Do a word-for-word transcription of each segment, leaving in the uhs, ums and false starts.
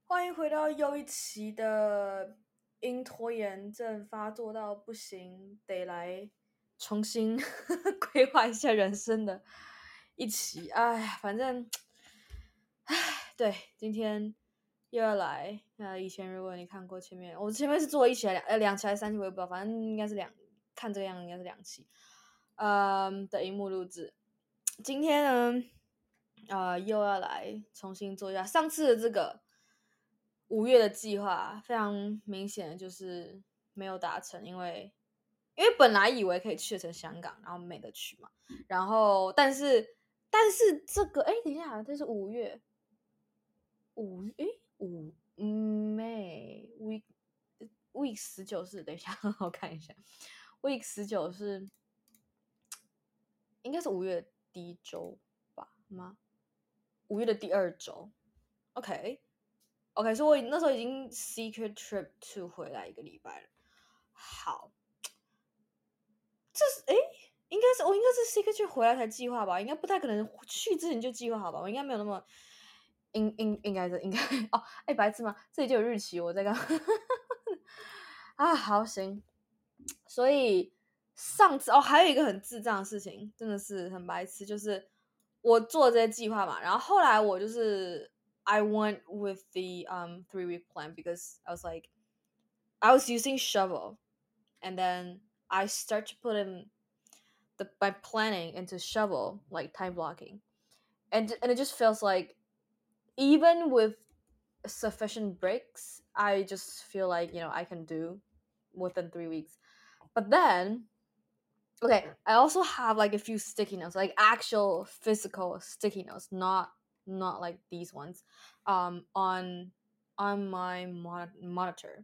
歡迎回到又一期的因拖延症發作到不行，得來重新規劃一下人生的一期。哎，反正，哎，對，今天又要來。那以前如果你看過前面，我前面是做一期還兩呃兩期還是三期，我也不知道，反正應該是兩，看這個樣子應該是兩期。嗯的熒幕錄製，今天呢，呃，又要來重新做一下上次的這個。五月的計劃非常明顯的就是沒有達成，因為因為本來以為可以去成香港，然後沒得去嘛。然後但是但是這個哎，等一下，這是五月五哎五嗯 May week week 十九是等一下我看一下 week 十九是應該是五月第一周吧嗎？五月的第二周 ，OK。OK，所以我那時候已經 secret trip to 回來一個禮拜了。好，這是誒，應該是我應該是 secret trip 回來才計劃吧？應該不太可能去之前就計劃好吧？我應該沒有那麼應應應該是應該哦，哎，白痴嗎？這裡就有日期，我在幹嘛啊？好行，所以上次哦，還有一個很智障的事情，真的是很白痴，就是我做這些計劃嘛，然後後來我就是。I went with the um three week plan because I was like, I was using Shovel, and then I start to put in the my planning into Shovel, like time blocking, and and it just feels like even with sufficient breaks, I just feel like you know I can do within three weeks. But then, okay, I also have like a few sticky notes, like actual physical sticky notes, not. not like these ones, um, on on my mon- monitor,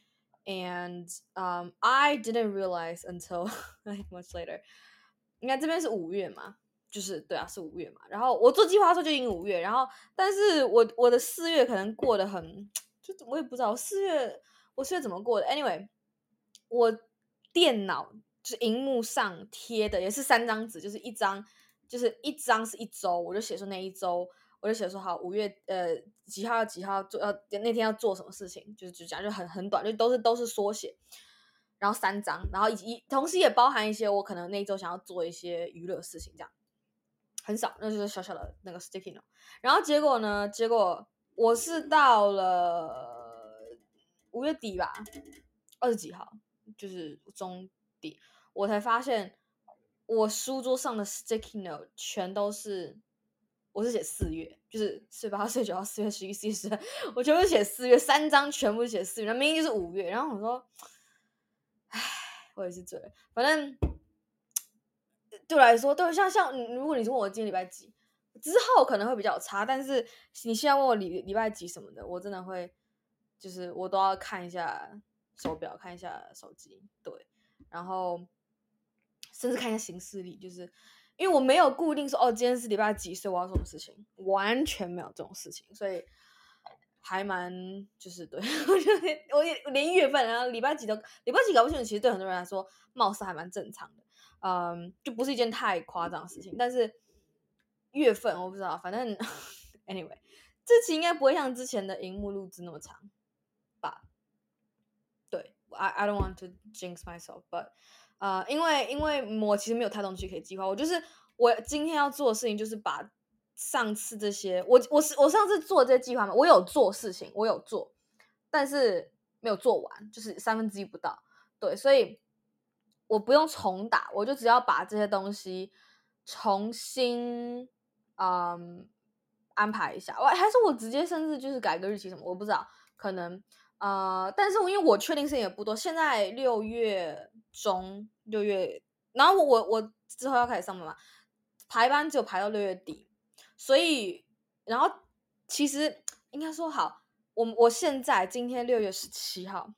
and um, I didn't realize until like much later. 你看這邊是五月嘛，就是對啊，是五月嘛。然後我做計劃的時候就已經五月，然後但是我我的四月可能過得很，就我也不知道四月我四月怎麼過的。Anyway， 我電腦就是熒幕上貼的也是三張紙，就是一張就是一張是一周，我就寫說那一周。我就寫說好，五月呃幾號幾號做要那天要做什麼事情，就是就講就很很短，就都是都是縮寫，然後三張，然後以及同時也包含一些我可能那一周想要做一些娛樂事情，這樣很少，那就是小小的那個 sticky note。然後結果呢，結果我是到了五月底吧，二十幾號，就是中底，我才發現我書桌上的 sticky note 全都是。我是寫四月，就是四月八號、四月九號、四月十一、四月十二，我全部寫四月，三張全部寫四月，那明明就是五月。然後我說，唉，我也是醉了。反正對我來說，對像像如果你問我今天禮拜幾，之後可能會比較差，但是你現在問我禮禮拜幾什麼的，我真的會，就是我都要看一下手錶，看一下手機，對，然後甚至看一下行事曆，就是。因為我沒有固定說哦，今天是禮拜幾，所以我要做什麼事情，完全沒有這種事情，所以還蠻就是對我就連我連月份，然後禮拜幾都禮拜幾搞不清楚，其實對很多人來說，貌似還蠻正常的，嗯，就不是一件太誇張的事情。但是月份我不知道，反正 anyway， 這期應該不會像之前的熒幕錄製那麼長吧？對 ，I I don't want to jinx myself，but。呃，因為因為我其實沒有太多東西可以計劃，我就是我今天要做的事情就是把上次這些，我我是我上次做的這些計劃嘛，我有做事情，我有做，但是沒有做完，就是三分之一不到，對，所以我不用重打，我就只要把這些東西重新嗯安排一下，我還是我直接甚至就是改個日期什麼，我不知道，可能。呃，但是因為我確定事情也不多，現在六月中六月，然後我我之後要開始上班嘛，排班只有排到六月底，所以然後其實應該說好，我我現在今天六月十七號，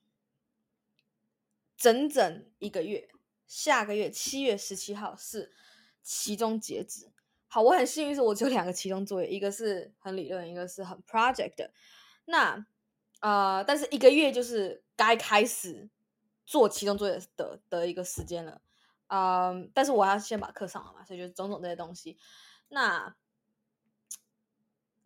整整一個月，下個月七月十七號是期中截止。好，我很幸運是我只有兩個期中作業，一個是很理論，一個是很 project 的，那。呃，但是一個月就是該開始做期中作業的的一個時間了，嗯，但是我要先把課上了嘛，所以就是種種這些東西。那，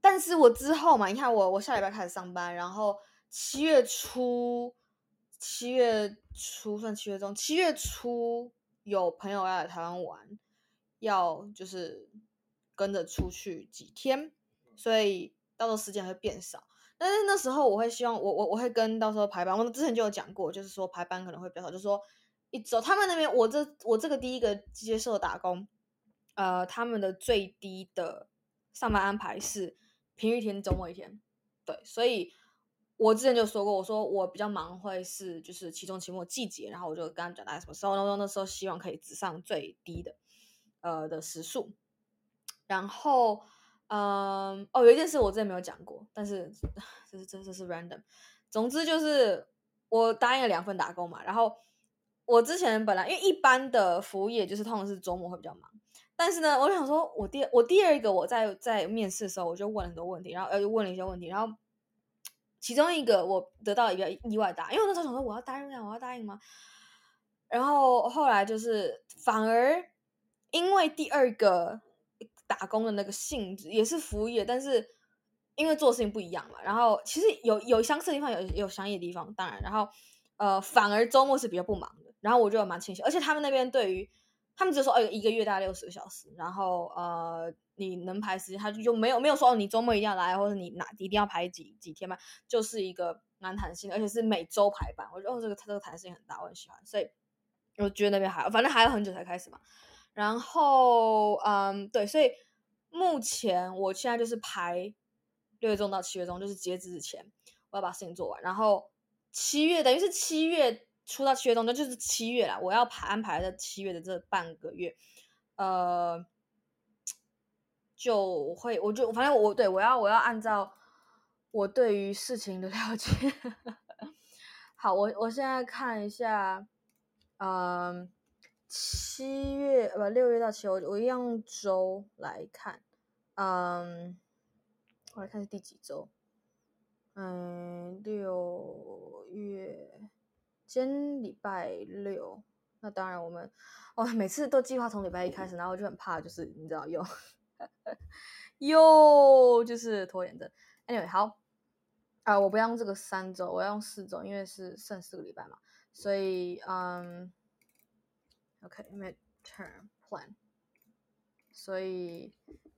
但是我之後嘛，你看我我下禮拜開始上班，然後七月初，七月初算七月中，七月初有朋友要來台灣玩，要就是跟着出去幾天，所以到時候時間會變少。但是那時候我會希望我我我會跟到時候排班，我之前就有講過，就是說排班可能會比較少，就是說一周他們那邊我這我這個第一個接受打工，呃，他們的最低的上班安排是平日一天，周末一天，對，所以我之前就說過，我說我比較忙會是就是期中、期末季節，然後我就跟他講大概什麼時候，然後那時候希望可以只上最低的呃的時數，然後。嗯，哦，有一件事我之前沒有講過，但是這是這這是 random。總之就是我答應了兩份打工嘛，然後我之前本來因為一般的服務業就是通常是周末會比較忙，但是呢，我就想說我第我第二個我在在面試的時候我就問了很多問題，然後呃又問了一些問題，然後其中一個我得到一個意外答案，因為我那時候想說我要答應嗎？我要答應嗎？然後後來就是反而因為第二個。打工的那個性質也是服務業，但是因為做事情不一樣嘛，然後其實有有相似的地方，有有相異的地方，當然，然後呃，反而周末是比較不忙的，然後我就蠻慶幸，而且他們那邊對於他們只說，哦，一個月大概六十個小時，然後呃，你能排時間，他就沒有沒有說你周末一定要來，或者你哪一定要排幾幾天嘛，就是一個蠻彈性的，而且是每周排班，我覺得哦，這個這個彈性很大，我很喜歡，所以我覺得那邊還反正還有很久才開始嘛。然後，嗯，對，所以目前我現在就是排六月中到七月中，就是截止之前，我要把事情做完。然後七月等於是七月初到七月中，那就是七月啦。我要排安排在七月的這半個月，呃，就會我就反正我對我要我要按照我對於事情的了解。好，我我現在看一下，嗯。七月不六月到七月，我我一樣用週來看，嗯，我來看是第幾週，嗯，六月，今天禮拜六，那當然我們，哦，每次都計劃從禮拜一開始，然後我就很怕，就是你知道又，又就是拖延症。Anyway，好，啊、呃，我不要用這個三週，我要用四週，因為是剩四個禮拜嘛，所以嗯。OK, midterm plan. 所以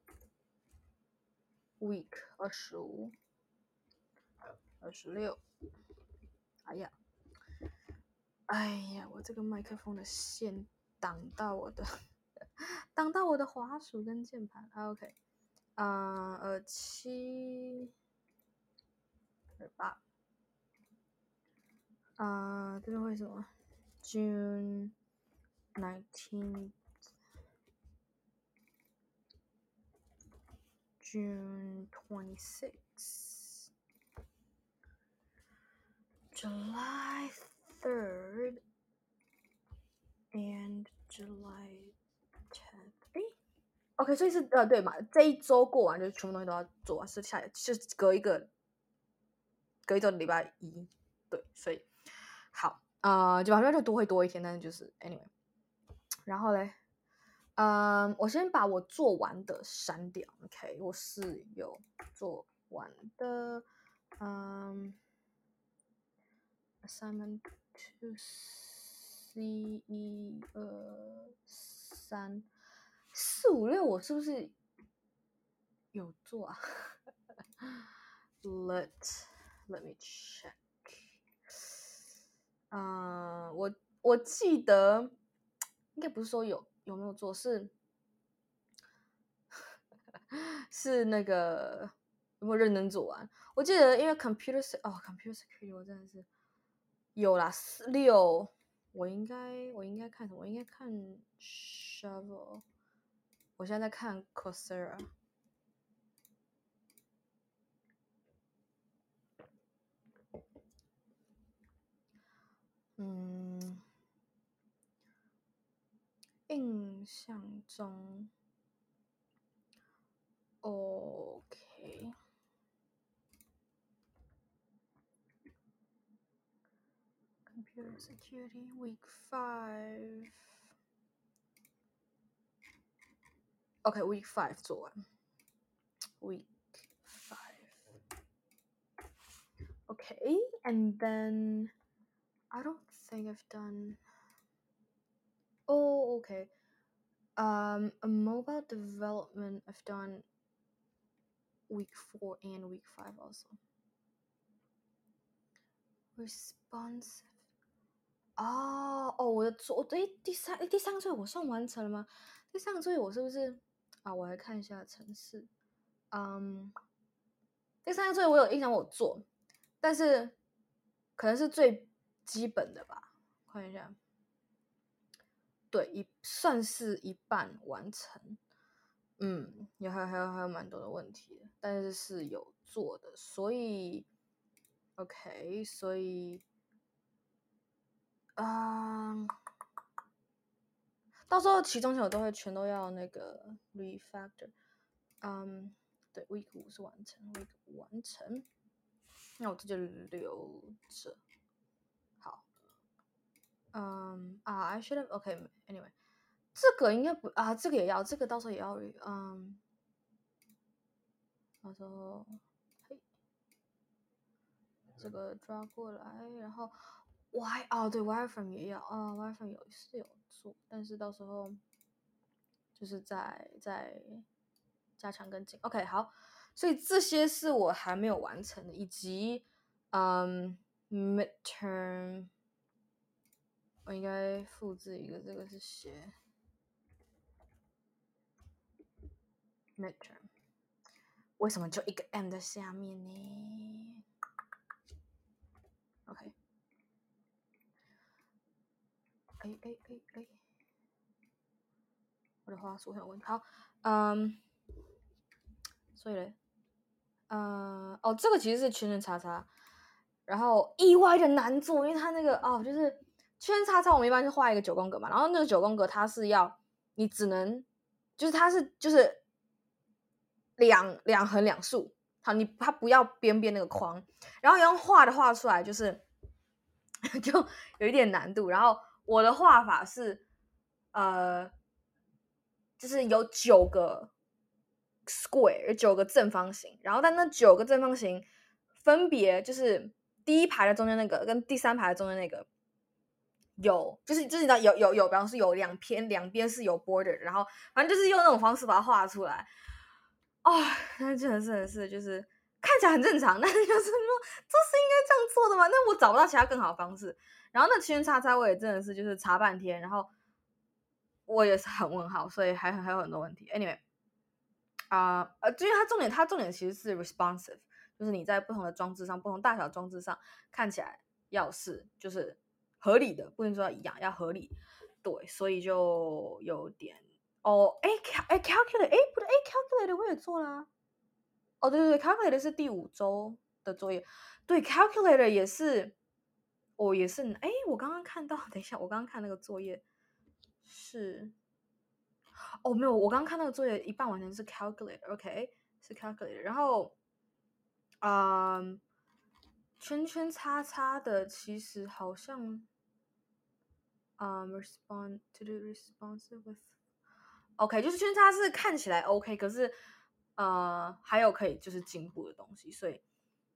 week 二十五、二十六，哎呀，哎呀，我這個麥克風的線擋到我的，擋到我的滑鼠跟鍵盤。OK， 啊、呃，二七、二八，啊，這邊會什麼 ？June nineteenth。June twenty-sixth, July third, and July tenth. 哎 ，OK， 所以是呃對嘛，這一周過完就全部東西都要做完，是下就是隔一個隔一周的禮拜一，對，所以好啊、呃，就反正就多會多一天，但是就是 anyway， 然後嘞。嗯，我先把我做完的刪掉 ，OK， 我是有做完的，嗯 ，assignment to C 一二三四五六，我是不是有做啊？Let Let me check， 嗯，我我記得應該不是說有。有沒有做是是那個有沒有認真做完？我記得因為 computer 哦 computer security 我真的是有啦，四六我應該我應該看什麼？我應該看 Shovel， 我現在在看 Coursera。嗯，印象中 OK。Computer Security Week Five。OK，Week Five 做完。Week And then I don't think I've done. Oh, okay. Um, a mobile development I've done week four and week five also. Responsive.哦哦，我的作对第三第三个作业我算完成了吗？第三個作業我是不是啊？我來看一下程式。嗯，第三個作業我有印象我做，但是可能是最基本的吧。看一下，對，一算是一半完成。嗯，有還有還有還有蠻多的問題的，但是是有做的，所以 OK， 所以啊。嗯到時候期中考我都會全都要那個 refactor， 嗯，對 ，week 五是完成 ，week 五完成，那我這就留着。好，嗯啊 ，I should have OK，anyway，、okay, 這個應該不啊，這個也要，這個到時候也要，嗯，到時候嘿，這個抓過來，然後 Y 哦，對 wireframe 也要啊 ，wireframe 有是有做，但是到時候。就是在在加強跟進 ，OK 好，所以這些是我還沒有完成的，以及嗯 midterm， 我應該複製一個，這個是寫 midterm， 為什麼就一個 M 在下面呢 ？OK， 哎哎哎哎。我的話術很有問題。好，嗯，所以嘞，嗯，哦，這個其實是圈圈叉叉，然後意外的難做，因為它那個哦，就是圈圈叉叉，我們一般就畫一個九宮格嘛，然後那個九宮格它是要你只能，就是它是就是兩兩橫兩豎，好，你它不要邊邊那個框，然後要用畫的畫出來，就是就有一點難度。然後我的畫法是，呃。就是有九個 square， 有九個正方形，然後但那九個正方形分別就是第一排的中間那個跟第三排的中間那個有，就是就是你知道有有有，比方說有兩邊兩邊是有 border， 然後反正就是用那種方式把它畫出來。哦，那真的是真的是就是看起來很正常，但是就是說這是應該這樣做的嗎？那我找不到其他更好的方式。然後那圈叉叉我也真的是就是查半天，然後。我也是很問號，所以還還有很多問題。Anyway， 啊、呃，呃，因為它重點，它重點其實是 responsive， 就是你在不同的裝置上、不同大小裝置上看起來要是就是合理的，不能說要一樣，要合理。對，所以就有點哦，哎，哎 calculate， 哎，不對，哎 calculate 我也做啦。哦，對對對 calculate 是第五週的作業，對 calculate 也是，哦也是，哎，我剛剛看到，等一下，我剛剛看那個作業。是，哦，沒有，我剛剛看那個作業一半完成是 calculator，OK， 是 calculator，然後，嗯，圈圈叉叉的其實好像，嗯 ，respond to do responsive with，OK， 就是圈叉是看起來 OK， 可是，呃，還有可以就是進步的東西，所以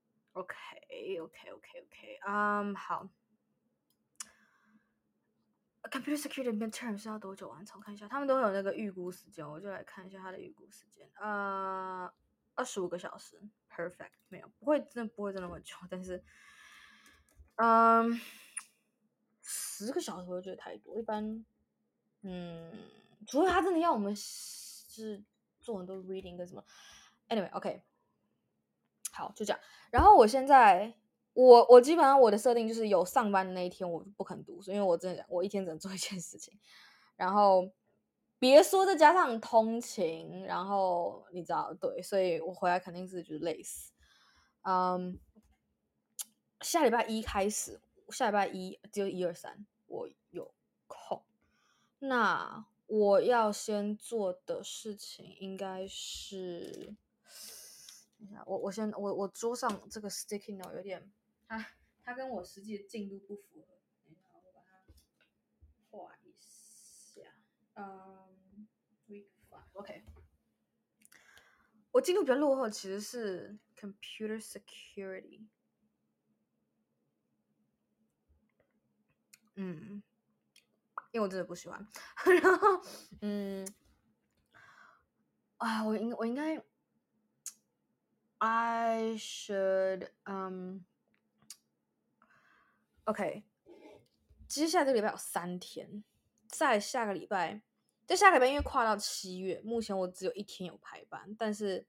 ，OK，OK，OK，OK， 嗯，好。Computer security midterm 是要多久完成？看一下，他們都有那個預估時間，我就來看一下他的預估時間。呃，二十五個小時 ，perfect， 沒有，不會，真的不會真的那麼久，但是，嗯，十個小時我覺得太多，一般，嗯，除非他真的要我們是做很多 reading 跟什麼 ，anyway，OK，、okay. 好，就這樣。然後我現在。我我基本上我的設定就是有上班的那一天我不肯讀書，因為我真的我一天只能做一件事情，然後別說再加上通勤，然後你知道對，所以我回來肯定是就是累死。嗯，下禮拜一開始，下禮拜一就一二三我有空，那我要先做的事情應該是，等一下我我先我我桌上這個 sticky note 有點。它它跟我實際的進度不符合，等一下我把它畫一下。嗯 ，week five，OK。我進度比較落後，其實是 computer security。 嗯，因為我真的不喜歡。然後，嗯，啊，我應我應該，I should，嗯，OK，接下來這個禮拜有三天，在下個禮拜，在下個禮拜因為跨到七月，目前我只有一天有排班，但是，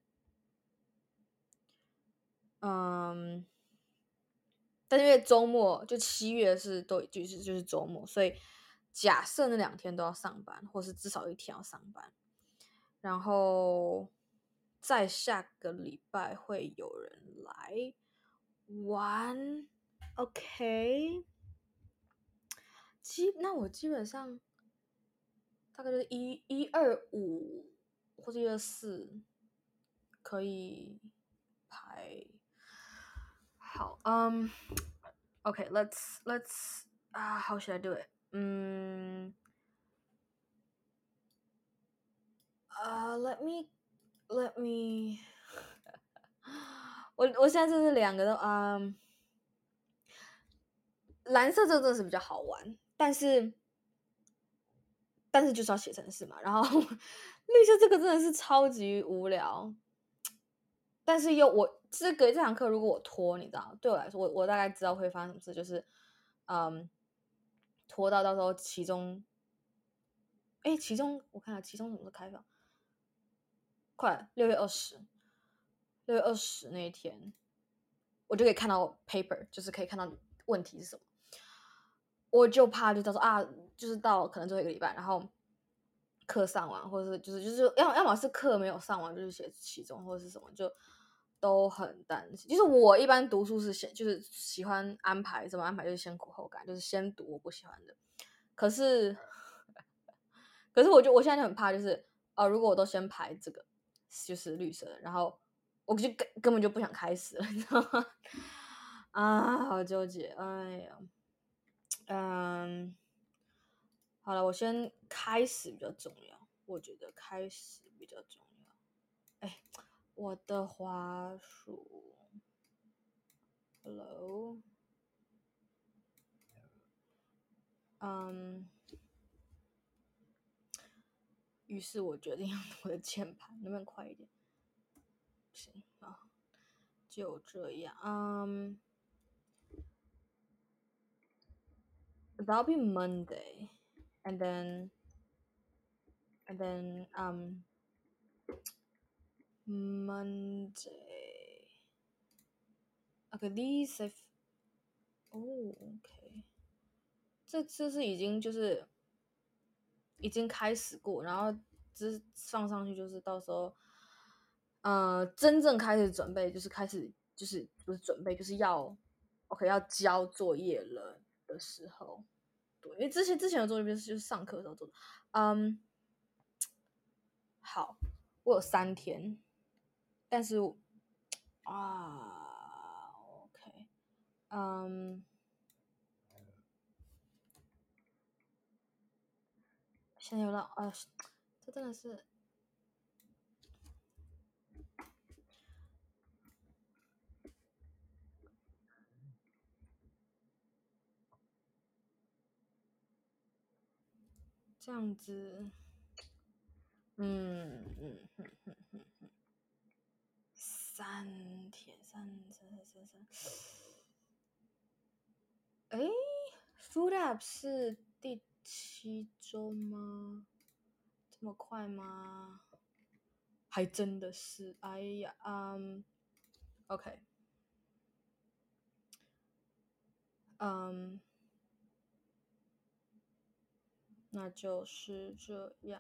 嗯。但是因為周末就七月是都就是就是周末，所以假設那兩天都要上班，或是至少一天要上班，然後在下個禮拜會有人來玩 ，OK， 基那我基本上大概就是一一二五或者一二四可以排好，嗯。Okay, let's let's uh, how should I do it? 嗯，呃、uh, let me let me 我我現在就是兩個都嗯，藍色這個真的是比較好玩，但是但是就是要寫程式嘛，然後綠色這個真的是超級無聊，但是又我這個這堂課如果我拖，你知道，對我來說，我我大概知道會發生什麼事，就是嗯，拖到到時候期中。哎，期中我看下期中什麼時候開放？快六月二十，六月二十那一天，我就可以看到 paper， 就是可以看到問題是什麼。我就怕就到時候啊，就是到可能最後一個禮拜，然後課上完，或者是就是就是要要麼是課沒有上完，就是寫期中或者是什麼，就都很擔心。就是我一般讀書是先就是喜歡安排怎麼安排，就是先苦後甘，就是先讀我不喜歡的。可是。可是我就我現在就很怕，就是呃，如果我都先排這個，就是綠色的，然後我就根根本就不想開始了，你知道嗎？啊，好糾結，哎呀，嗯，好了，我先開始比較重要，我覺得開始比較重要。哎，我的滑鼠 ，Hello， 嗯。於是我決定用我的鍵盤，能不能快一點？不行啊，就這樣。嗯、um,，That'll be Monday, and then, and then, um, Monday. Okay, these have. Oh, okay. 這這是已經就是已經開始過，然後只放上去，就是到時候。呃，真正開始準備就是開始就是不是準備，就是要 OK 要交作業了的時候，對，因為之前之前的作業就是就是上課的時候做的，嗯，好，我有三天，但是啊 OK， 嗯，現在有了啊，這真的是。這樣子，嗯嗯嗯嗯嗯嗯，三天，三三三三，哎 ，Food App 是第七周嗎？這麼快嗎？還真的是，哎呀，嗯 ，OK， 嗯，那就是這樣。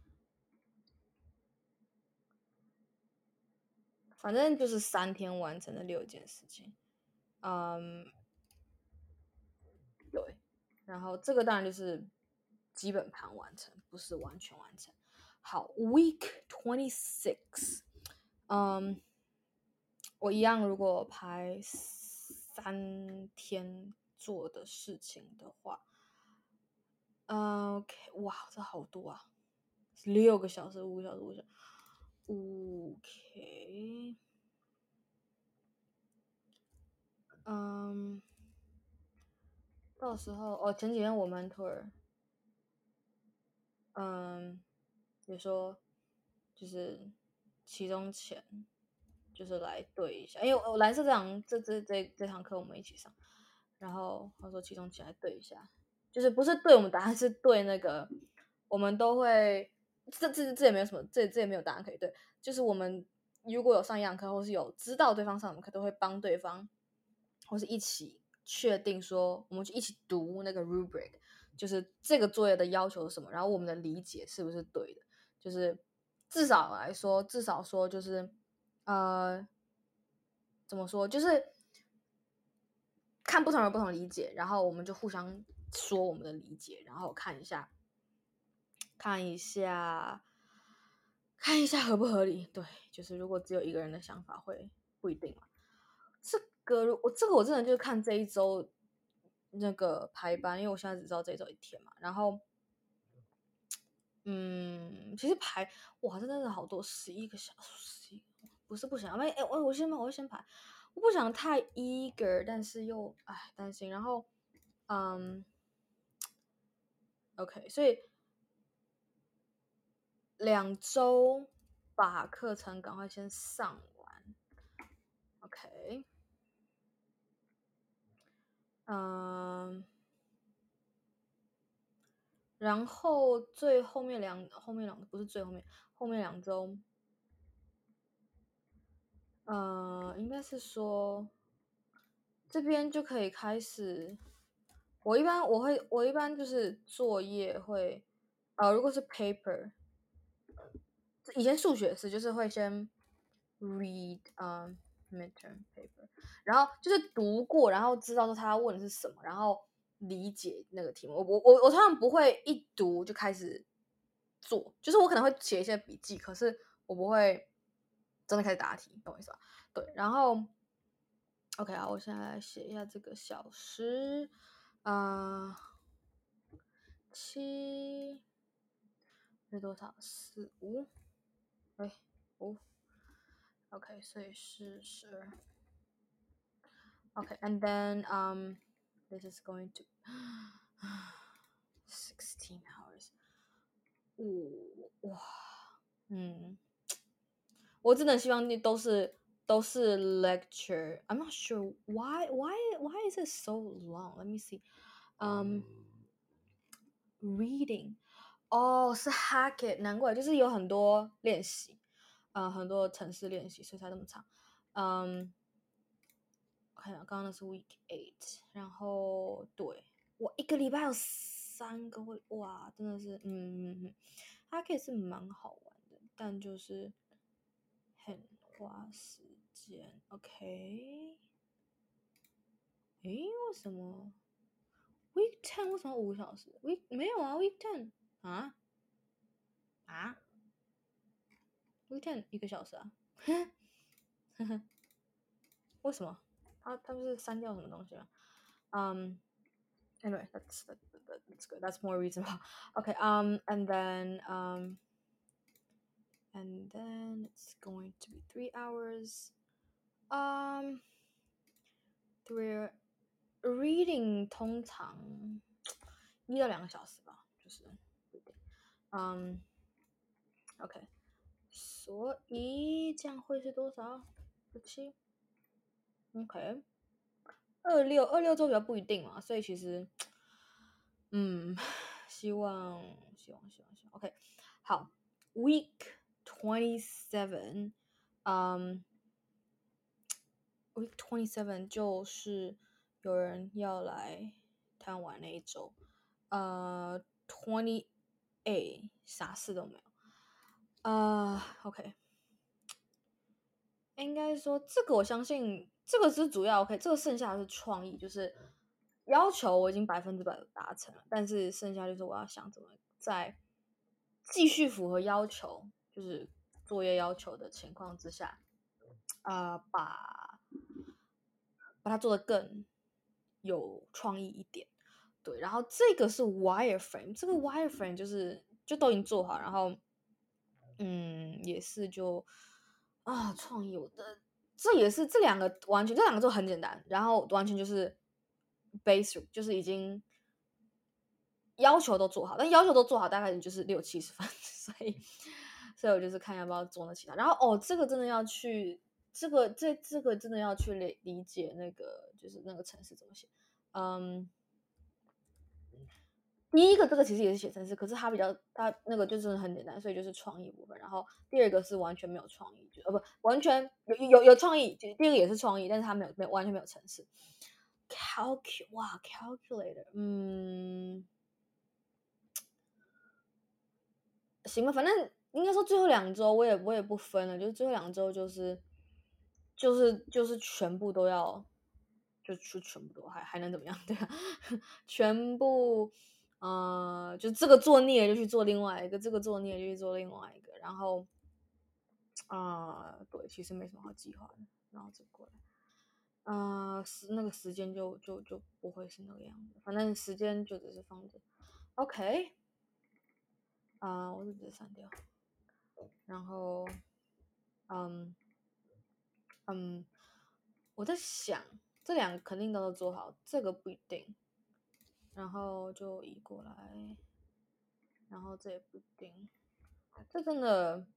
反正就是三天完成了六件事情，嗯，對，然後這個當然就是基本盤完成，不是完全完成。好 ，Week twenty six，嗯，我一樣，如果排三天做的事情的話，嗯 ，OK， 哇，這好多啊，六個小時，五個小時，五個小時。OK， 嗯， 到時候哦，前幾天我 mentor，嗯，也說就是期中前就是來對一下，因為我藍色這堂這這這這堂課我們一起上，然後他說期中前來對一下，就是不是對我們答案，是對那個我們都會這這這也沒有什麼，這這也沒有答案可以對，就是我們如果有上一堂課或是有知道對方上什麼課，都會幫對方或是一起確定說，我們就一起讀那個 rubric。就是這個作業的要求是什麼，然後我們的理解是不是對的？就是至少來說，至少說就是呃，怎麼說？就是看不同人不同理解，然後我們就互相說我們的理解，然後看一下，看一下，看一下合不合理。對，就是如果只有一個人的想法會不一定嘛。這個我這個我真的就是看這一周那個排班，因為我現在只知道這一周一天嘛，然後，嗯，其實排哇，真的是好多，十一個小時，不是不想，哎哎，我我先我先排，我不想太 eager，但是又哎擔心，然後，嗯，OK，所以兩周把課程趕快先上完 ，OK，嗯。然後最後面兩後面兩不是最後面後面兩周，呃，應該是說這邊就可以開始。我一般我會我一般就是作業會，呃，如果是 paper，以前數學是就是會先 read 嗯、um, midterm paper，然後就是讀過，然後知道說他要問的是什麼，然後理解那個題目。我我我我通常不會一讀就開始做，就是我可能會寫一些筆記，可是我不會真的開始答題，懂我意思吧？對，然後 OK 啊，我現在來寫一下這個小時，啊、呃，七是多少？四五，哎五 ，OK，所以是十二。Okay, and then um, this is going to sixteen hours. 哇，嗯，我真的希望你都是都是 lecture. I'm not sure why why why is it so long? Let me see. Um, reading. 哦，是 Hackett，難怪就是有很多練習，呃，很多程式練習，所以才這麼長。嗯。看一下，剛剛那是 week eight，然後對，我一個禮拜有三個會，哇，真的是，嗯嗯嗯，它可以是蠻好玩的，但就是很花時間。OK，誒，為什麼 week ten 為什麼五個小時 ？week 沒有啊 ，week ten 啊啊 ，week ten 一個小時啊，呵呵，為什麼？他他不是刪掉什麼東西嗎？嗯、um,，anyway that's that, that, that's good that's more reasonable. Okay, um and then um and then it's going to be three hours. Um three reading 通常一到兩個小時吧，就是嗯、um, OK， 所以這樣會是多少？十七 OK。二六二六週比較不一定嘛，所以其實，嗯，希望希望希望希望 OK， 好 ，Week twenty seven， 嗯、um, ，Week twenty seven 就是有人要來台灣玩那一週，呃 ，twenty eight 啥事都沒有，呃 ，OK， 應該說這個我相信。這個是主要 OK， 這個剩下的是創意，就是要求我已經百分之百的達成了，但是剩下就是我要想怎麼在繼續符合要求，就是作業要求的情況之下，啊、呃，把把它做得更有創意一點。對，然後這個是 wireframe， 這個 wireframe 就是就都已經做好，然後嗯，也是就啊，創意我的。這也是這兩個完全，這兩個就很簡單，然後完全就是 basic，就是已經要求都做好，但要求都做好大概就是六七十分，所以所以我就是看要不要做那其他。然后哦，這個真的要去，這個這這個真的要去理理解那個就是那個程式怎麼寫，嗯。第一個這個其實也是寫程式，可是它比較它那個就是很簡單，所以就是創意部分。然後第二個是完全沒有創意，就呃不完全有有有創意，第二個也是創意，但是它沒有沒有完全沒有程式。Calc 哇 calculator， 嗯，行吧，反正應該說最後兩周我也我也不分了，就是最後兩周就是就是就是全部都要，就就全部都還還能怎麼樣？對啊，全部。呃，就這個做膩了就去做另外一個，這個做膩了就去做另外一個，然後，啊、呃，對，其實沒什麼好計劃的，然後就過來，呃，時那個時間就就就不會是那個樣子，反正時間就只是放着 ，OK，啊、呃，我就直接刪掉，然後，嗯嗯，我在想這兩個肯定都要做好，這個不一定，然後就移過來。然後這也不一定，這真的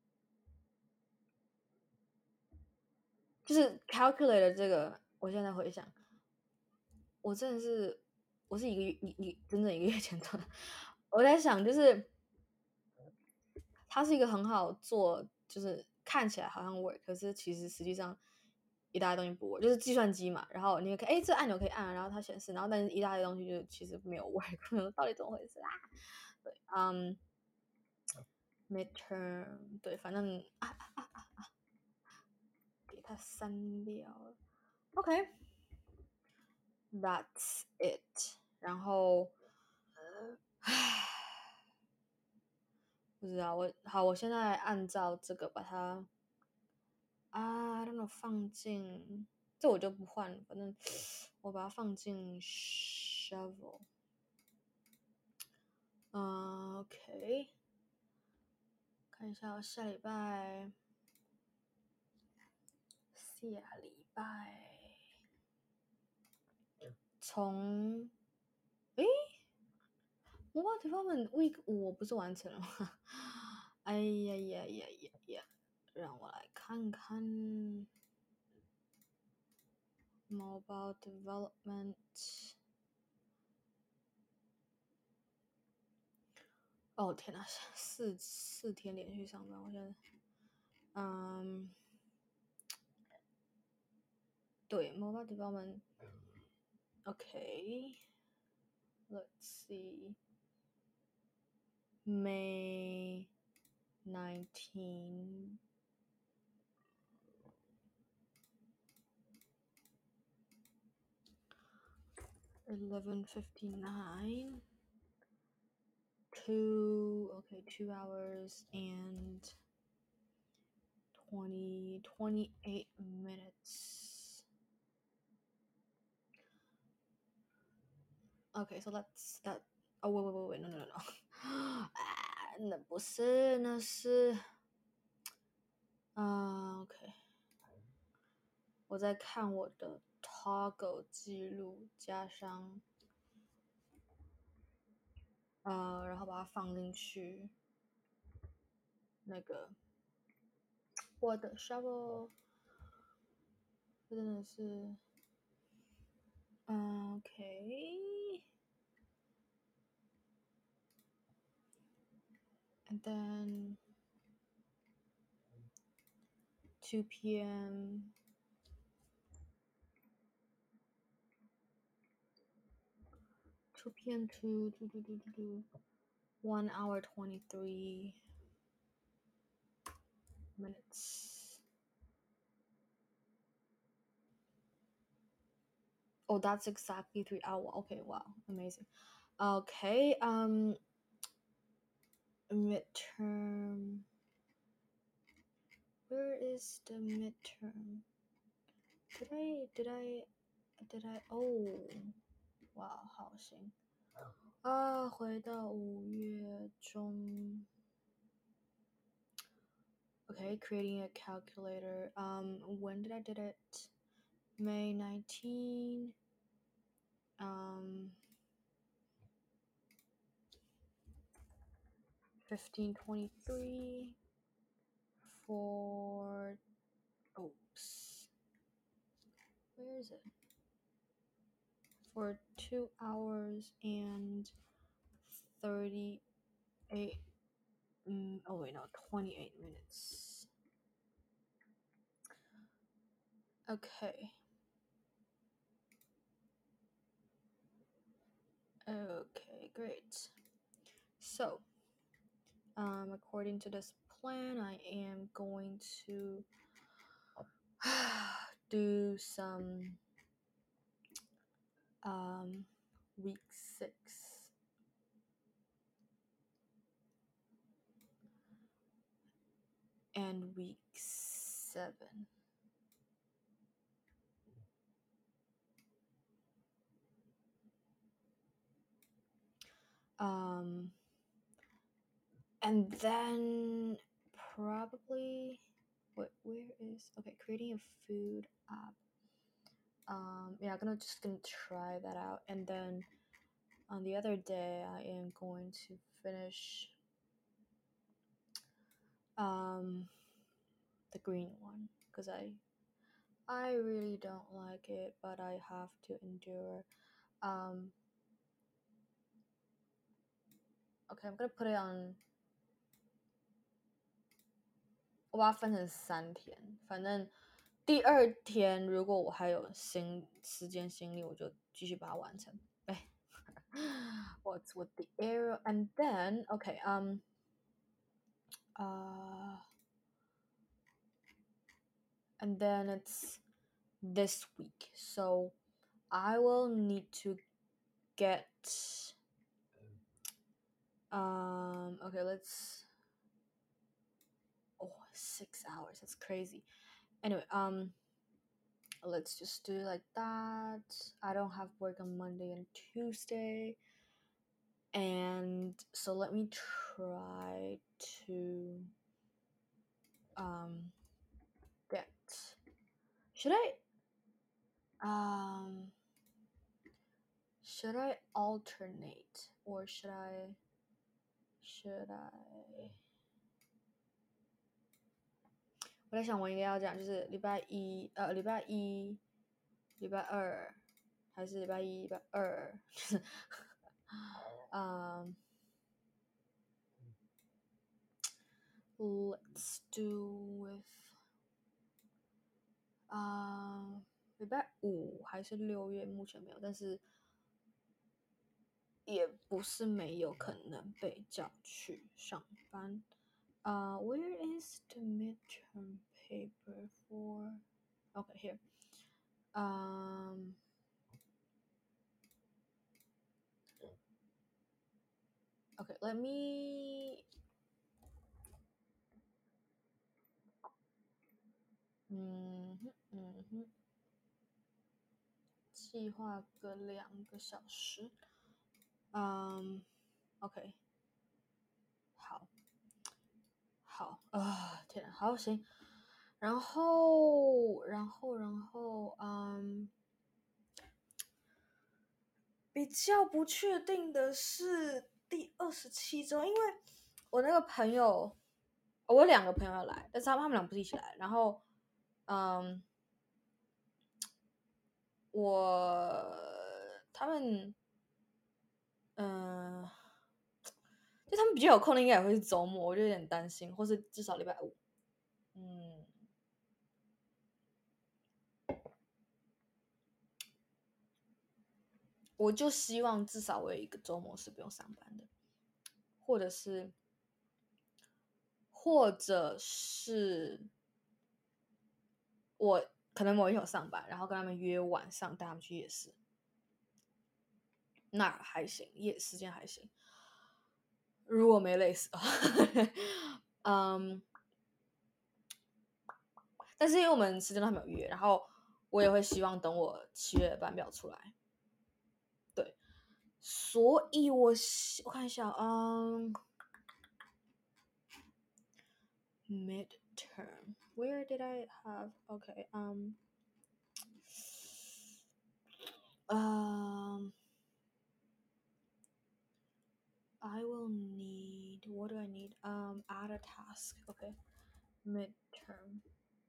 就是 calculator 這個，我現在回想，我真的是，我是一個月一一真正一個月前做的。我在想，就是它是一個很好做，就是看起來好像 work，可是其實實際上一大堆東西不 work，就是計算機嘛。然後你可以，哎，這按鈕可以按，然後它顯示，然後但是一大堆東西就其實沒有 work，到底怎麼回事啊？對，嗯。midterm 對，反正啊啊啊啊啊，給它刪掉了。OK，that's it。然後，唉，不知道我好，我現在按照這個把它啊，讓它放進，這我就不換了，反正我把它放進 shovel。嗯 ，OK，看一下我下禮拜。下禮拜從誒 Mobile Development Week 五我不是完成了嗎？哎呀呀呀呀呀！讓我來看看 Mobile Development。哦天哪，四四天連續上班，我現在，嗯。對 ，Mobile Development。OK，Let's see. May nineteenth. eleven fifty-nine. Two, okay, two hours and twenty, twenty-eight minutes. Okay, so that's that. Oh, wait, wait, wait, wait, no, no, no, no. 啊，那不是，那是，啊、uh, ，OK。我在看我的 toggle 記錄，加上，呃，然後把它放進去，那個我的 shovel，真的是，嗯 ，OK。And then two p m two p m to to to to to one hour twenty-three minutes. Oh, that's exactly three hours. Okay, wow, amazing. Okay, um, midterm. Where is the midterm? Did I, did I, did I, oh, wow, 好行啊，回到五月中。Okay, creating a calculator. Um, when did I did it? May nineteenth. Um, fifteen twenty-three for, oops, where is it? For two hours and thirty-eight, mm, oh wait, no, twenty-eight minutes. Okay. Okay, great. So, um, according to this plan, I am going to do some um, week six and week seven. Um, and then probably, what, where is, okay, creating a food app. Um, yeah, I'm gonna just gonna try that out, and then on the other day, I am going to finish um the green one because I I really don't like it, but I have to endure. Um, okay, I'm gonna put it on. 我把它分成三天，反正第二天如果我还有心时间心力，我就继續把它完成。哎，What's with the arrow? And then, okay, um, uh, and then it's this week, so I will need to get. Um, okay, let's. Oh, six hours. That's crazy. Anyway, um, let's just do it like that. I don't have work on Monday and Tuesday. And so let me try to um get. Should I um should I alternate or should I should I 我在想我应该要讲就是礼拜一呃礼拜一礼拜二还是礼拜一礼拜二就是嗯 let's do with 啊礼拜五还是六月目前没有，但是也不是没有可能被叫去上班。Uh, where is the midterm paper for? Okay, here. Um, okay, let me. 嗯哼嗯哼，计劃個兩個小時。嗯、um,，OK， 好，好啊，天啊，好行。然後，然後，然後，嗯。比較不確定的是第二十七週，因為我那個朋友，我有兩個朋友要來，但是他們他們倆不是一起來。然後，嗯，我他們，嗯，就他們比較有空的應該也會是週末，我就有點擔心，或是至少禮拜五，嗯。我就希望至少我有一個週末是不用上班的，或者是，或者是我可能某一天有上班，然後跟他們約晚上帶他們去夜市，那還行，夜時間還行。如果沒累死的話，嗯，但是因為我們時間都還沒有約，然後我也會希望等我七月的班表出來。對，所以我我看一下，嗯 ，midterm where did I have okay um um I will need what do I need add a task. Okay. Midterm.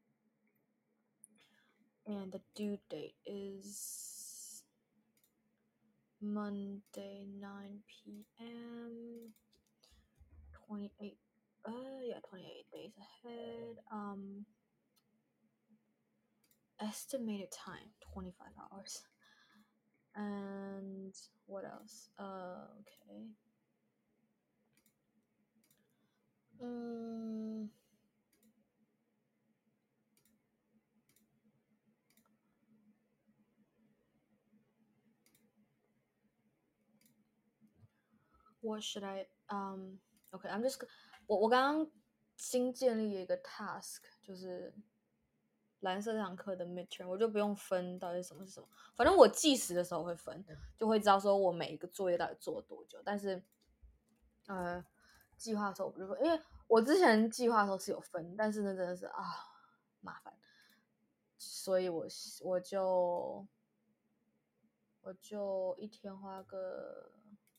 And the due date is Monday, nine p.m. twenty-eight. Uh, yeah, twenty-eight days ahead. Um, estimated time twenty-five hours. And what else? Uh, okay. Um, what should I? Um, okay, I'm just 我我刚刚新建立了一個 task，就是藍色這堂課的 midterm， 我就不用分到底什麼是什麼，反正我計時的時候會分，就會知道說我每一個作業到底做了多久。但是，呃，計劃的時候我不分，因為我之前計劃的時候是有分，但是呢真的是啊麻煩，所以我我就我就一天花個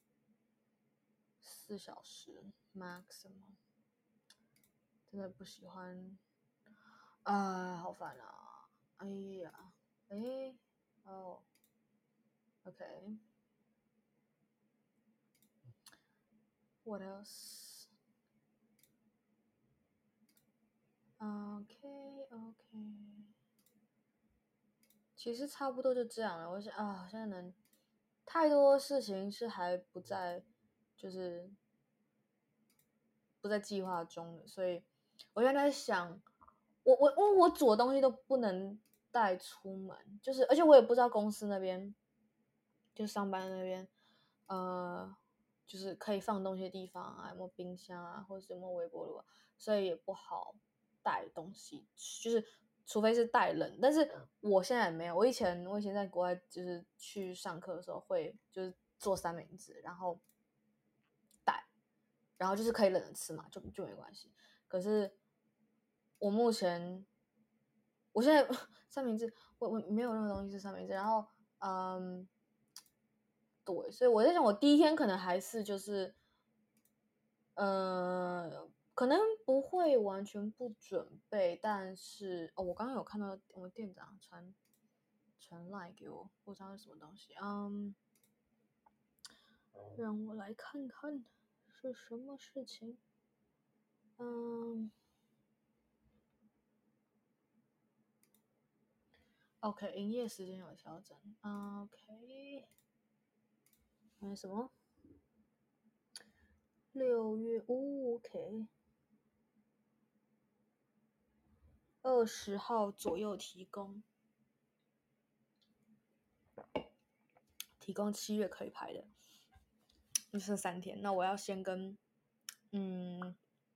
四小時 maximum， 真的不喜歡。啊，好煩啊！哎呀，哎，哦 ，OK。What else? OK OK。其實差不多就這樣了。我想啊，現在能太多事情是還不在，就是不在計劃中的，所以我現在在想。我我我我煮的東西都不能帶出門，就是而且我也不知道公司那邊，就上班那邊，呃，就是可以放東西的地方啊，有沒有冰箱啊，或者是有沒有微波爐啊，所以也不好帶東西，就是除非是帶冷，但是我現在也沒有。我以前我以前在國外就是去上課的時候會就是做三明治，然後帶，然後就是可以冷着吃嘛，就就沒關係。可是我目前，我現在三明治，我我沒有任何東西是三明治。然後，嗯，對，所以我在想，我第一天可能還是就是，呃，可能不會完全不準備，但是哦，我剛剛有看到我們店長傳傳 line 給我，不知道是什麼東西，嗯，讓我來看看是什麼事情，嗯。OK， 營業時間有調整。OK， 還有什麼？六月五 ，OK， 二十號左右提供，提供七月可以排的，就剩三天。那我要先跟，嗯，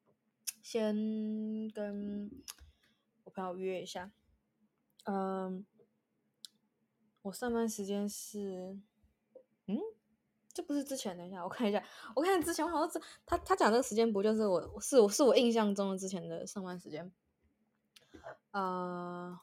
先跟我朋友約一下。嗯，我上班時間是，嗯，這不是之前，等一下我看一下，我看之前我好像是他他講這個時間不就是我是我是我印象中的之前的上班時間，呃，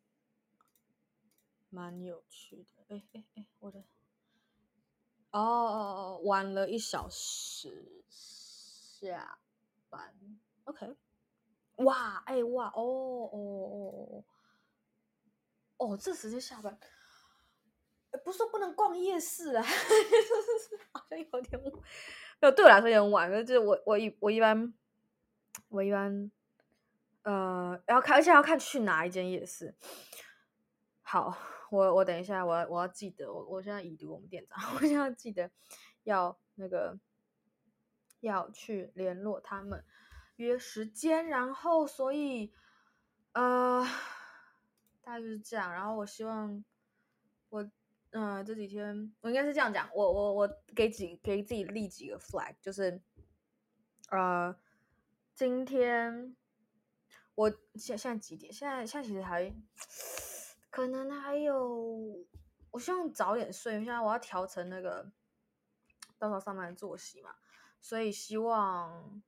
蠻有趣的。哎哎哎，我的，哦哦哦，晚了一小時下班 ，OK， 哇，哎哇，哦哦哦哦，哦，這時間下班。不是說不能逛夜市啊，就是好像有點晚，沒有，對我來說有點晚。就是我我一我一般我一般呃要看，而且要看去哪一間夜市。好，我我等一下，我要我要記得，我我現在已讀我們店長，我現在要記得要那個要去聯絡他們約時間，然後所以呃大概就是這樣。然後我希望我。嗯、呃，這幾天我應該是這樣講，我我我給幾給自己立幾個 flag，就是呃，今天我現現在幾點？現在現在其實還可能還有，我希望早點睡，因為現在我要調成那個到時候上班的作息嘛，所以希望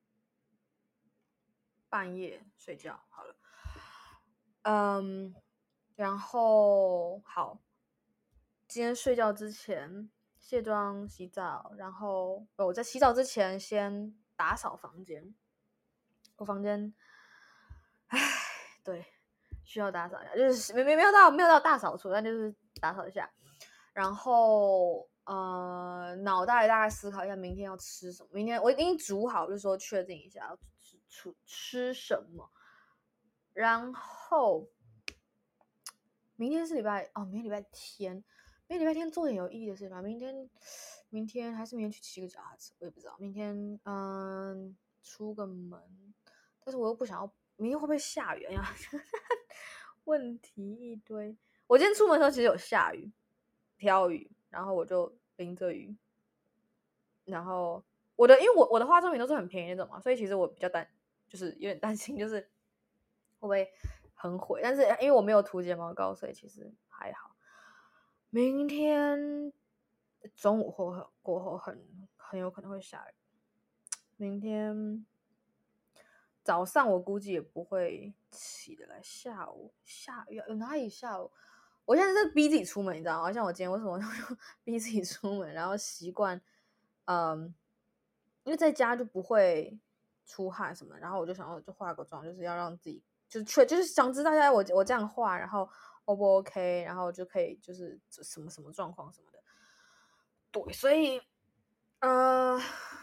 半夜睡覺好了。嗯，然後好。今天睡覺之前卸妝洗澡，然後我在洗澡之前先打掃房間， 我房間，唉，對，需要打掃一下，就是沒沒沒有到沒有到大掃除，但就是打掃一下。然後呃，腦袋大概思考一下明天要吃什麼。明天我已經煮好，就是說確定一下要吃吃吃什麼。然後明天是禮拜哦，明天禮拜天，明天禮拜天做點有意義的事吧。明天明天還是明天去騎個腳踏車，我也不知道。明天嗯，出個門，但是我又不想要。明天會不會下雨呀？問題一堆。我今天出門的時候其實有下雨，飄雨，然後我就淋着雨。然後我的，因為我我的化妝品都是很便宜那種嘛，所以其實我比較擔，就是有點擔心，就是會不會很毀。但是因為我沒有塗睫毛膏，所以其實還好。明天中午後過後很很有可能會下雨。明天早上我估計也不會起得來，下午下雨有哪裡下午？我現在在逼自己出門，你知道嗎？像我今天為什麼逼自己出門，然後習慣，嗯，因為在家就不會出汗什麼，然後我就想要就化個妝，就是要讓自己就是確就是想知道一下我我這樣化，然後 O 不 OK，然後就可以就是什麼什麼狀況什麼的。對，所以呃，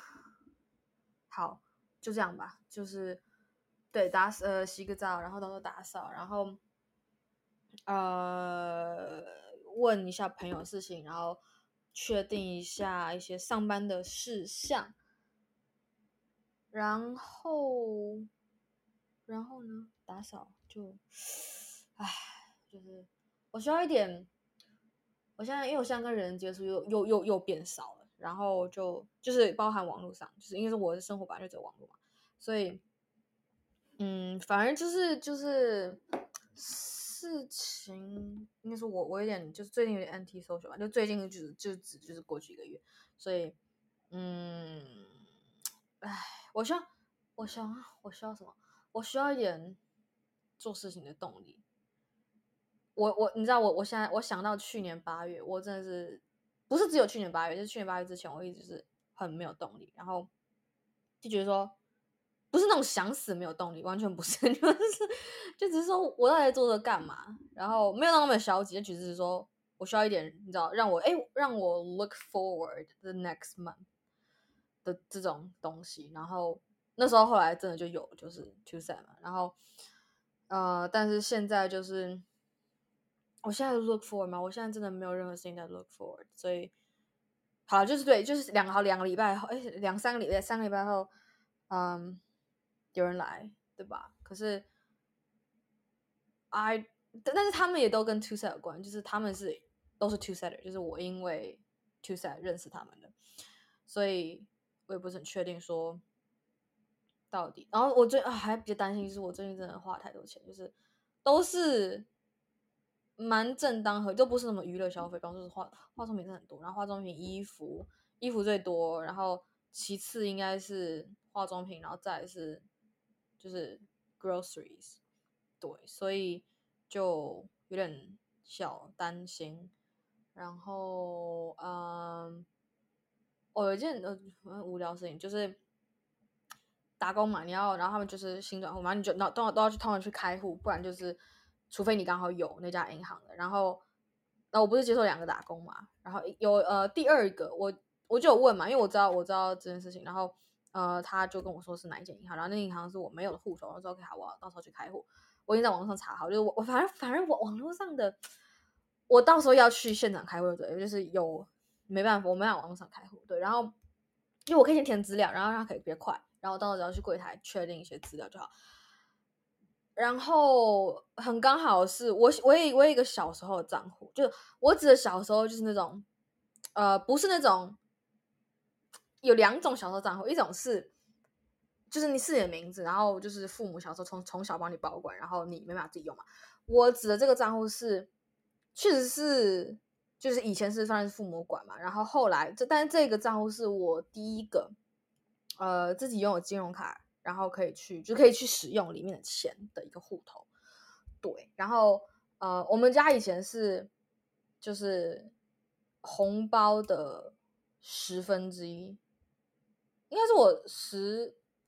好，就這樣吧，就是對打呃洗個澡，然後到時候打掃，然後呃問一下朋友的事情，然後確定一下一些上班的事項，然後然後呢打掃就，唉，就是我需要一點，我現在因為我現在跟人接觸又又又又變少了。然後就就是包含網絡上，就是因為是我的生活本來就只有網絡嘛，所以嗯，反正就是就是事情，應該說我我有點就是最近有點 anti social 吧，就最近就是就只就是過去一個月，所以嗯，唉，我需要我需要我需要什麼？我需要一點做事情的動力。我我你知道我我現在我想到去年八月，我真的是。不是只有去年八月，就是去年八月之前，我一直是很沒有動力，然後就覺得說，不是那種想死沒有動力，完全不是，就是就只是說我到底在做這幹嘛，然後沒有那麼消極，就只是說我需要一點，你知道，讓我哎讓我 look forward the next month 的這種東西，然後那時候後來真的就有，就是 two set 嘛，然後呃，但是現在就是。我現在 look forward 嗎？我現在真的沒有任何事情在 look forward，所以好就是對，就是兩好兩個禮拜後，哎，兩三個禮拜，三個禮拜後，嗯，有人來，對吧？可是 I， 但是他們也都跟 two set 有關，就是他們是都是 two setter，就是我因為 two set 認識他們的，所以我也不是很確定說到底。然後我最啊還比較擔心，就是我最近真的花太多錢，就是都是。蠻正當和，就不是什麼娛樂消費，比方說是化化妝品真的很多，然後化妝品、衣服，衣服最多，然後其次應該是化妝品，然後再來是就是 groceries， 對，所以就有點小擔心。然後嗯，我、哦、有一件呃無聊的事情，就是打工嘛，你要，然後他們就是新轉戶嘛，你就都都都要去通常去開戶，不然就是。除非你剛好有那家銀行的，然後，那我不是接受兩個打工嘛，然後有呃第二個我我就有問嘛，因為我知道我知道這件事情，然後呃他就跟我說是哪一間銀行，然後那個銀行是我沒有的戶頭，我說 OK 好，我要到時候去開戶，我已經在網絡上查好，就是我我反正反正我網絡上的，我到時候要去現場開戶對，就是有沒辦法我沒辦法網絡上開戶對，然後因為我可以先填資料，然後讓它可以比較快，然後到時候只要去櫃檯確定一些資料就好。然後很剛好是我我也我有一個小時候的賬戶，就我指的小時候就是那種，呃，不是那種，有兩種小時候賬戶，一種是，就是你是你的名字，然後就是父母小時候從從小幫你保管，然後你沒辦法自己用嘛。我指的這個賬戶是，確實是，就是以前是算是父母管嘛，然後後來這但是這個賬戶是我第一個，呃，自己擁有金融卡。然後可以去，就可以去使用裡面的錢的一個戶頭，對。然後呃，我們家以前是就是紅包的十分之一，應該是我十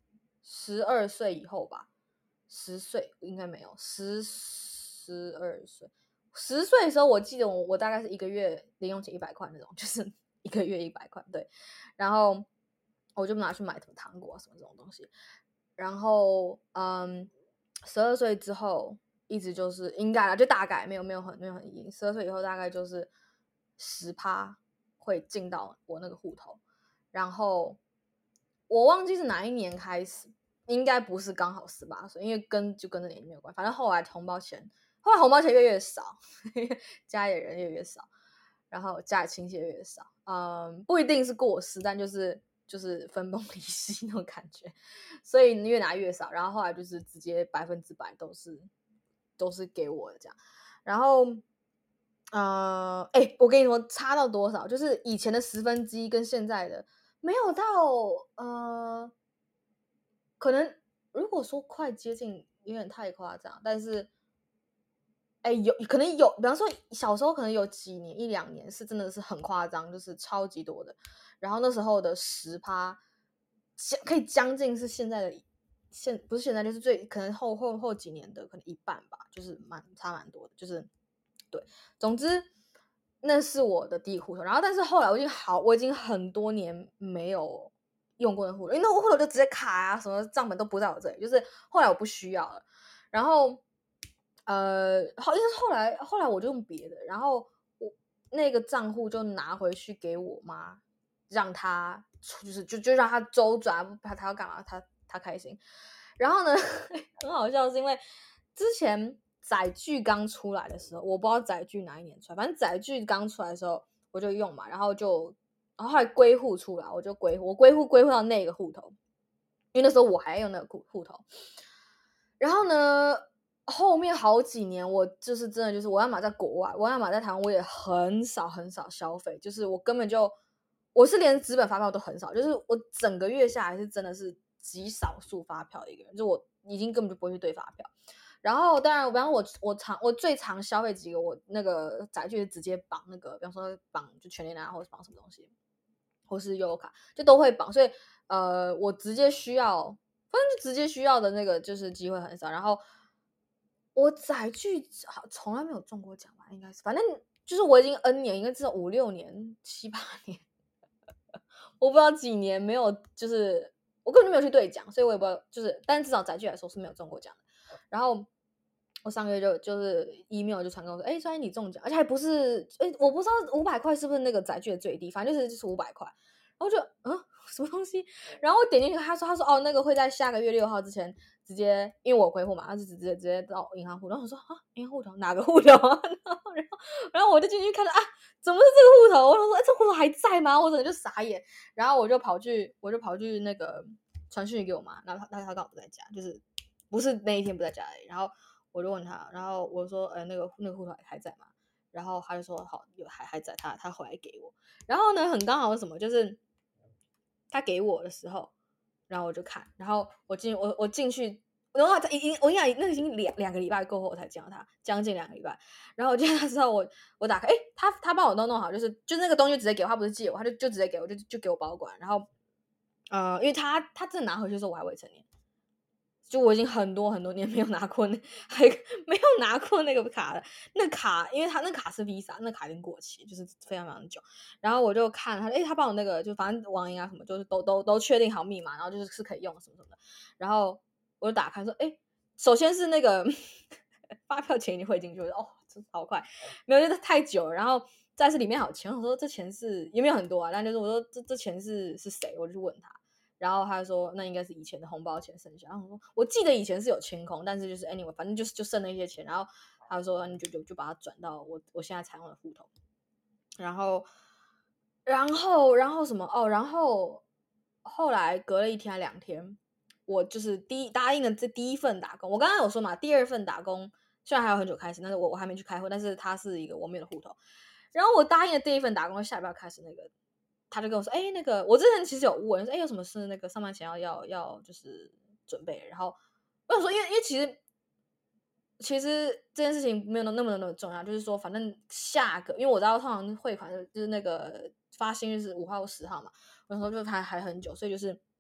十二歲以後吧，十歲應該沒有，十十二歲，十歲的時候，我記得我我大概是一個月零用錢一百塊那種，就是一個月一百塊，對，然後我就拿去買什麼糖果啊什麼這種東西，然後嗯，十二歲之後一直就是應該啦，就大概沒有沒有很沒有很硬，十二歲以後大概就是十趴會進到我那個戶頭，然後我忘記是哪一年開始。應該不是剛好十八歲，因為跟就跟這年齡沒有關係。反正後來紅包錢，後來紅包錢越來越少，家裡人越來越少，然後家裡親戚越來越少。嗯，不一定是過世，但就是就是分崩離析那種感覺，所以越拿越少。然後後來就是直接百分之百都是都是給我的這樣。然後，呃，哎，我跟你說差到多少？就是以前的十分之一跟現在的沒有到呃。可能如果說快接近，有點太誇張，但是，哎，有可能有，比方說小時候可能有幾年一兩年是真的是很誇張，就是超級多的。然後那時候的十趴，可以將近是現在的現不是現在就是最可能後後後幾年的可能一半吧，就是蠻差蠻多的，就是對。總之那是我的第一個戶頭，然後但是後來我已經好，我已經很多年沒有用過的戶頭，因為那戶頭就直接卡啊，什麼賬本都不在我這裡，就是後來我不需要了，然後呃，好，因為後來後來我就用別的，然後我那個賬戶就拿回去給我媽，讓她就是就就讓她周轉，她她要幹嘛，她她開心。然後呢，很好笑，是因為之前載具剛出來的時候，我不知道載具哪一年出來，反正載具剛出來的時候我就用嘛，然後就。然後後來歸戶出來，我就歸戶，我歸戶歸戶到那個戶頭，因為那時候我還用那個戶戶頭。然後呢，後面好幾年我就是真的就是我要麼在國外，我要麼在台灣，我也很少很少消費，就是我根本就我是連紙本發票都很少，就是我整個月下來是真的是極少數發票的一個人，就我已經根本就不會去對發票。然後當然，比方說我我常我最常消費幾個，我那個載具是直接綁那個，比方說綁就全聯啊，或者綁什麼東西。或是悠遊卡就都會綁，所以呃，我直接需要，反正就直接需要的那個就是機會很少。然後我載具好從來沒有中過獎吧，應該是，反正就是我已經 N 年，應該至少五六年、七八年，我不知道幾年沒有，就是我根本就沒有去兌獎，所以我也不知道，就是，但至少載具來說是沒有中過獎的。然後我上個月就就是 email 就傳給我說，哎，雖然你中獎，而且還不是，哎，我不知道五百塊是不是那個載具的最低，反正就是就是五百塊。然後就嗯，什麼東西？然後我點進去，他說他說哦，那個會在下個月六號之前直接，因為我歸戶嘛，他就直接直接到銀行戶。然後我說啊，銀行戶頭哪個戶頭啊？然後然後然後我就進去看到啊，怎麼是這個戶頭？我說哎，這個戶頭還在嗎？我整個就傻眼。然後我就跑去，我就跑去那個傳訊給我媽，然後他他剛好不在家，就是不是那一天不在家而已。然後我就問他，然後我說呃，那個那個戶頭還還在嗎？然後他就說好，有還還在，他他回來給我。然後呢，很剛好是什麼，就是。他給我的時候，然後我就看，然後我進我我進去，然後他已經我跟你講，那個已經兩兩個禮拜過後我才見到他，將近兩個禮拜。然後我見到他之後，我我打開，哎，他他幫我都弄好，就是就那個東西直接給我，他不是借我，他就就直接給我，就就給我保管。然後呃，因為他他真的拿回去的時候我還未成年。就我已經很多很多年沒有拿過那，還沒有拿過那個卡了。那卡，因為他那卡是 Visa，那卡已經過期，就是非常非常久。然後我就看他，哎、欸，他幫我那個，就反正網銀啊什麼，就是都都都確定好密碼，然後就是是可以用什麼什麼的。然後我就打開說，哎、欸，首先是那個發票錢已經匯進去了，哦，這好快，沒有，就是太久了。然後再是裡面還有錢，我說這錢是也沒有很多啊，但就是我說這這錢是是誰，我就去問他。然後他就說那應該是以前的紅包錢剩下。然後我說我記得以前是有清空，但是就是 anyway， 反正就是就剩那些錢。然後他就說你就就就把它轉到我我現在採用的戶頭。然後然後然後什麼哦？然後後來隔了一天還兩天，我就是第一答應了這第一份打工。我剛剛有說嘛，第二份打工雖然還有很久開始，但是我我還沒去開會，但是它是一個我沒有的戶頭。然後我答應了第一份打工，下一秒開始那個。他就跟我說：“哎、欸，那個我之前其實有問，說哎、欸，有什麼事那個上班前要要要就是準備。”然後我想說，因為因為其實其實這件事情沒有那麼那麼重要，就是說反正下個，因為我知道通常匯款就是那個發薪日是五號或十號嘛，我想說就還還很久，所以就是反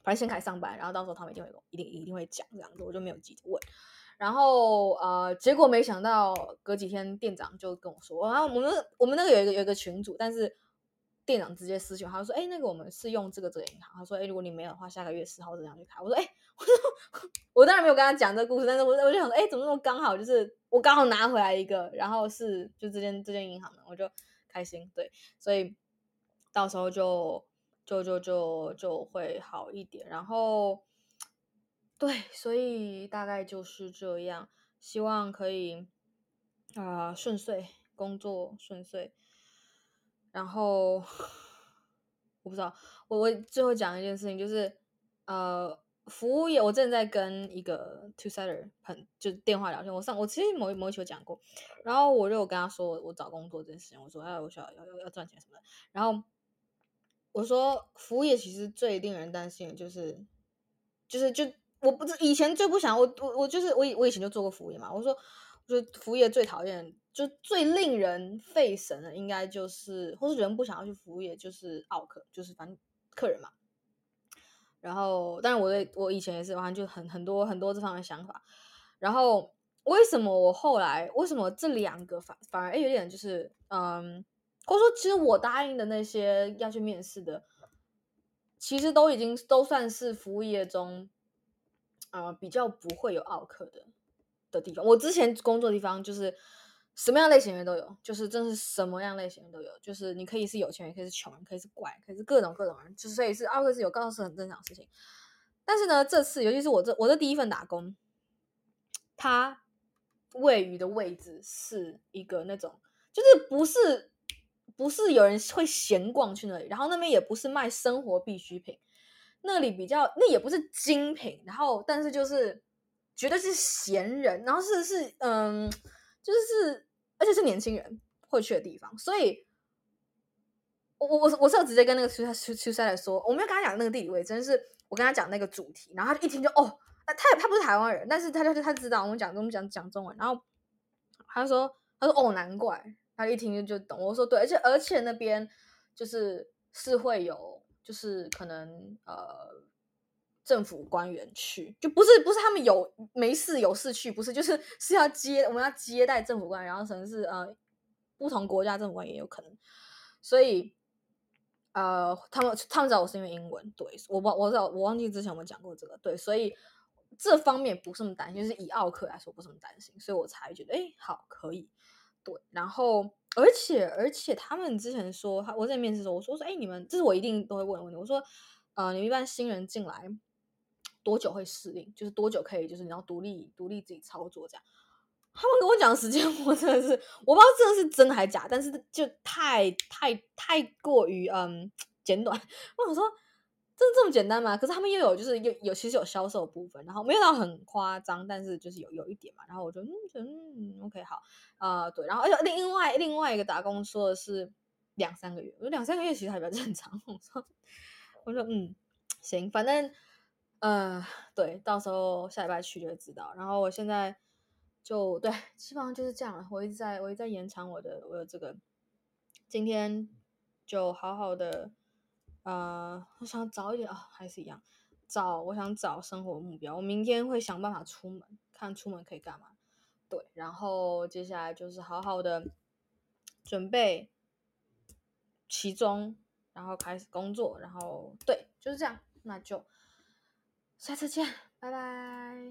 反正先開始上班，然後到時候他們一定會一定一定會講這樣子，我就沒有急着問。然後呃，結果沒想到隔幾天店長就跟我說，然後我們我們那個有一個有一個群組，但是店長直接私信他就說，哎，那個我們是用這個這個銀行，他說，哎，如果你沒有的話，下個月十號這樣去開。我說，哎，我說我當然沒有跟他講這個故事，但是我我就想說，哎，怎麼那麼剛好，就是我剛好拿回來一個，然後是就這間這間銀行的，我就開心，對，所以到時候就就就就就會好一點，然後。對，所以大概就是這樣，希望可以啊、呃、順遂，工作順遂。然後我不知道，我我最後講一件事情，就是呃服務業，我正在跟一個 two sider 很就是電話聊天，我上我其實某某一期有講過，然後我就有跟他說我找工作這件事情，我說哎我需要要要要賺錢什麼的，然後我說服務業其實最令人擔心的就是就是就。我不是以前最不想我我我就是我以我以前就做過服務業嘛。我說，我覺得服務業最討厭，就最令人費神的，應該就是或是人不想要去服務業，就是奧客，就是反正客人嘛。然後，當然我對我以前也是，完全就很很多很多這方面的想法。然後，為什麼我後來為什麼這兩個反反而有點就是嗯，或者說其實我答應的那些要去面試的，其實都已經都算是服務業中。呃，比較不會有奧客的的地方。我之前工作的地方就是什麼樣類型的人都有，就是真是什麼樣類型的都有，就是你可以是有錢人，可以是窮人，可以是怪，可以是各種各種人，就所以是奧客是有，告訴是很正常的事情。但是呢，這次尤其是我這我這第一份打工，它位於的位置是一個那種，就是不是不是有人會閒逛去那裡，然後那邊也不是賣生活必需品。那裡比較，那也不是精品，然後但是就是絕對是閒人，然後是是嗯，就是而且是年輕人會去的地方，所以我我我我是有直接跟那個出出出差來說，我沒有跟他講那個地理位置，真是我跟他講那個主題，然後他就一聽就哦，他他不是台灣人，但是他他他知道我們講我們講講中文，然後他就說他說哦難怪，他一聽就就懂，我說對，而且而且那邊就是是會有。就是可能呃政府官員去，就不是不是他們有沒事有事去，不是就是是要接我們要接待政府官員，然後可能是呃不同國家政府官員也有可能，所以呃他們他們找我是因為英文，對，我我我我忘記之前我們講過這個，對，所以這方面不是那麼擔心，就是以奧客來說不是那麼擔心，所以我才覺得哎好可以，對，然後。而且而且他們之前說，我在面試的時候，我說說，哎，你們這是我一定都會問的問題。我說，呃，你們一般新人進來多久會適應？就是多久可以，就是你要獨立獨立自己操作這樣。他們跟我講的時間，我真的是我不知道這個是真的還是假，但是就太太太過於嗯簡短。我想說。這這麼簡單嗎？可是他們又有就是有有其實有銷售的部分，然後沒有到很誇張，但是就是有有一點嘛。然後我就嗯嗯 OK 好啊、呃、對，然後而且另外另外一個打工說的是兩三個月，我說兩三個月其實還比較正常。我說我說嗯行，反正呃對，到時候下禮拜去就會知道。然後我現在就對，基本上就是這樣了。我一直在我一直在延長我的我的這個，今天就好好的。呃，我想早一點啊、哦，還是一樣，找我想找生活目標。我明天會想辦法出門，看出門可以幹嘛。對，然後接下來就是好好的準備期中，然後開始工作，然後對，就是這樣。那就下次見，拜拜。